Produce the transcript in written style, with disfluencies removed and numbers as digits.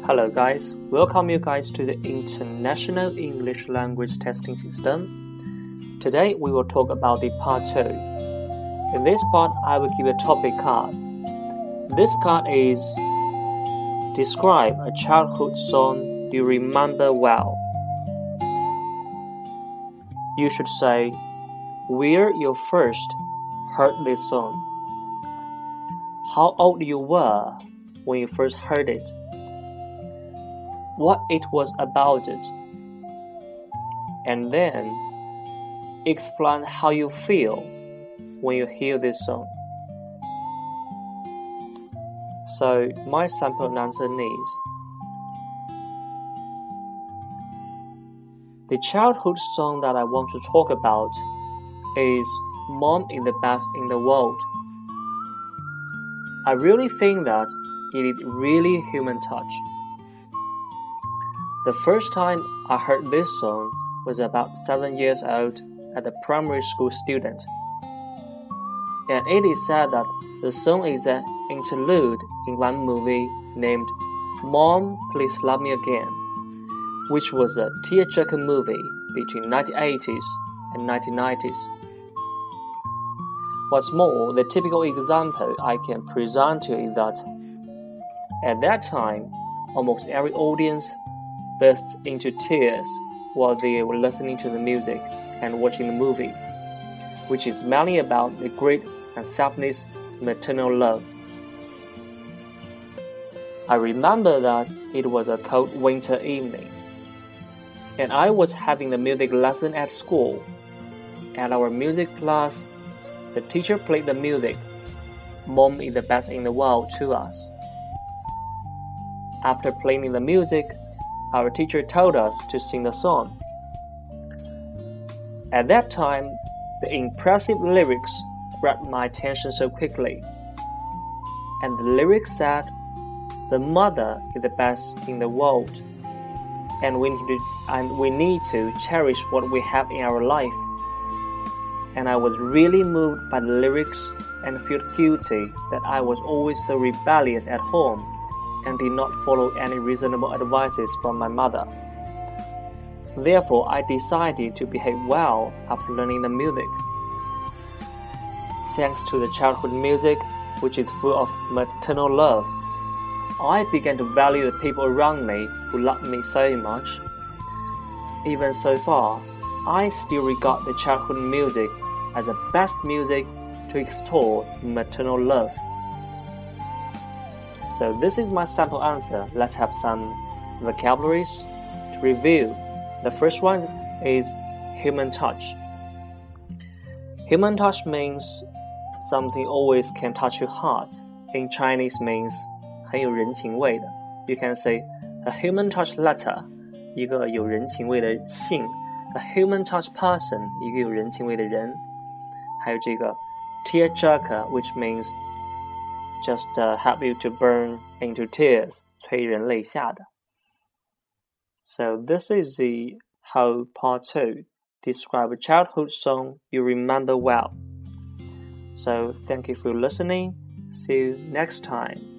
Hello guys, welcome you guys to the International English Language Testing System. Today we will talk about the part 2. In this part, I will give a topic card. This card is Describe a childhood song you remember well. You should say where you first heard this song, how old you were when you first heard it, what it was about it, and then explain how you feel when you hear this song. So my sample answer is the childhood song that I want to talk about is Mom is the Best in the World. I really think that it is really human touch. The first time I heard this song was about 7 years old as a primary school student. And it is said that the song is an interlude in one movie named Mom, Please Love Me Again, which was a tearjerker movie between 1980s and 1990s. What's more, the typical example I can present to you is that at that time, almost every audience bursts into tears while they were listening to the music and watching the movie, which is mainly about the great and selfless maternal love. I remember that it was a cold winter evening, and I was having the music lesson at school. At our music class, the teacher played the music, Mom is the Best in the World, to us. After playing the music, our teacher told us to sing the song. At that time, the impressive lyrics grabbed my attention so quickly. And the lyrics said, the mother is the best in the world, and we need to cherish what we have in our life. And I was really moved by the lyrics and felt guilty that I was always so rebellious at home and did not follow any reasonable advices from my mother. Therefore, I decided to behave well after learning the music. Thanks to the childhood music, which is full of maternal love, I began to value the people around me who loved me so much. Even so far, I still regard the childhood music as the best music to extol maternal love. So this is my sample answer. Let's have some vocabularies to review. The first one is human touch. Human touch means something always can touch your heart. In Chinese means 很有人情味的. You can say a human touch letter, 一个有人情味的信. A human touch person, 一个有人情味的人. 还有这个 tearjerker, which means just help you to burn into tears, 催人泪下的. So this is the whole part 2. Describe a childhood song you remember well. So thank you for listening. See you next time.